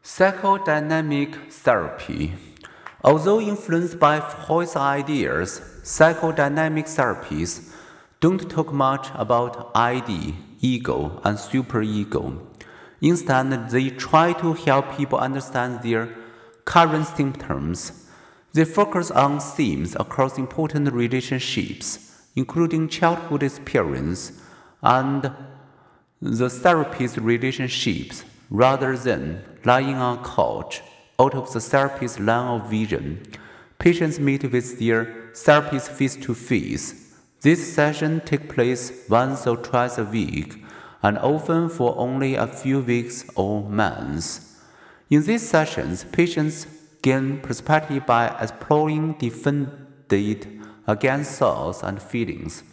Psychodynamic therapy. Although influenced by Freud's ideas, psychodynamic therapies don't talk much about ID, ego, and superego. Instead, they try to help people understand their current symptoms. They focus on themes across important relationships, including childhood experience and the therapist's relationships, rather than lying on a couch out of the therapist's line of vision. Patients meet with their therapist face to face. These sessions take place once or twice a week, and often for only a few weeks or months. In these sessions, patients gain perspective by exploring defended against thoughts and feelings.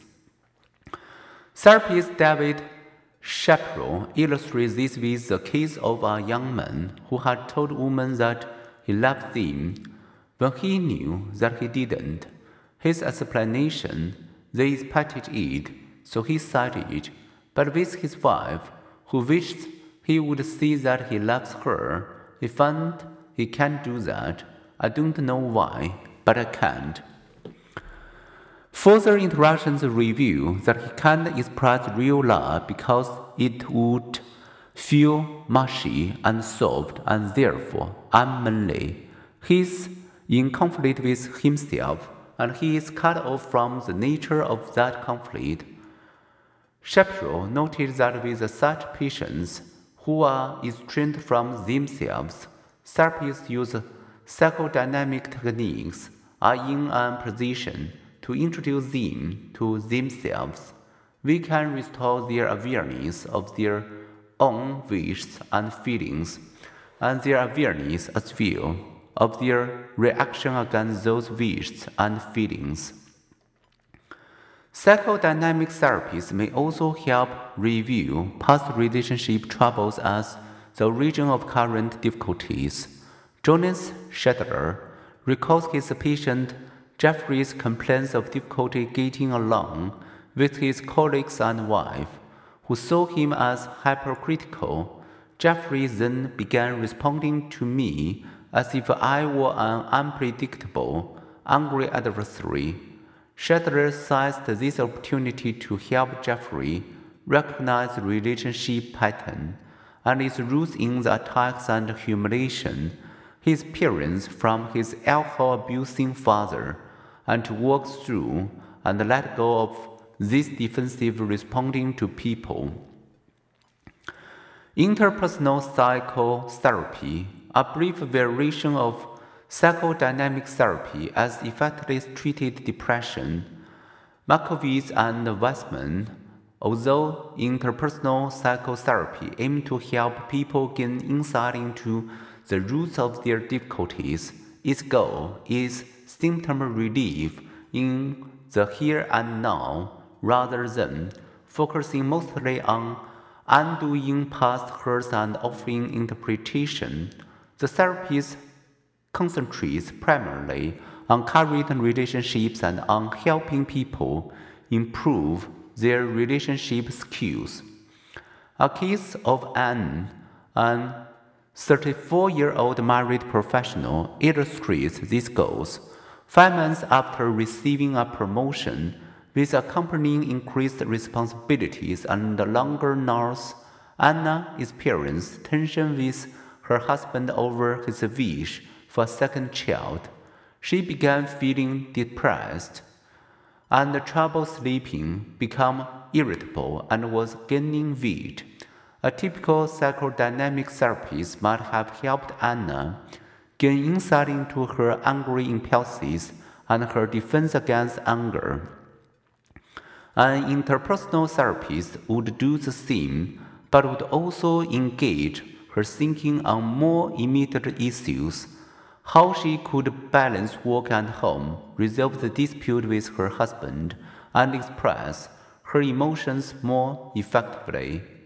Therapist David Shapiro illustrates this with the case of a young man who had told women that he loved them when he knew that he didn't. His explanation: they expected it, so he said it. But with his wife, who wished he would see that he loves her, he found he can't do that. I don't know why, but I can't. Further interactions reveal that he can't express real love because it would feel mushy and soft and therefore unmanly. He's in conflict with himself, and he is cut off from the nature of that conflict. Shapiro noted that with such patients who are estranged from themselves, therapists use psychodynamic techniques, are in a position to introduce them to themselves. We can restore their awareness of their own wishes and feelings, and their awareness as well of their reaction against those wishes and feelings. Psychodynamic therapies may also help review past relationship troubles as the origin of current difficulties. Jonas Shadler recalls his patient Jeffrey's complaints of difficulty getting along with his colleagues and wife, who saw him as hypercritical. Jeffrey then began responding to me as if I were an unpredictable, angry adversary. Shadler seized this opportunity to help Jeffrey recognize the relationship pattern and its roots in the attacks and humiliation he experienced from his alcohol-abusing father, and to work through and let go of this defensive responding to people. Interpersonal psychotherapy, a brief variation of psychodynamic therapy, as effectively treated depression. Markowitz and Weissman, although interpersonal psychotherapy aimed to help people gain insight into the roots of their difficulties, its goal is symptom relief in the here and now, rather than focusing mostly on undoing past hurts and offering interpretation. The therapist concentrates primarily on current relationships and on helping people improve their relationship skills. A case of Anne, an 34-year-old married professional, illustrates these goals. 5 months after receiving a promotion with accompanying increased responsibilities and longer hours, Anna experienced tension with her husband over his wish for a second child. She began feeling depressed and trouble sleeping, became irritable, and was gaining weight. A typical psychodynamic therapist might have helped Anna gain insight into her angry impulses and her defense against anger. An interpersonal therapist would do the same, but would also engage her thinking on more immediate issues: how she could balance work and home, resolve the dispute with her husband, and express her emotions more effectively.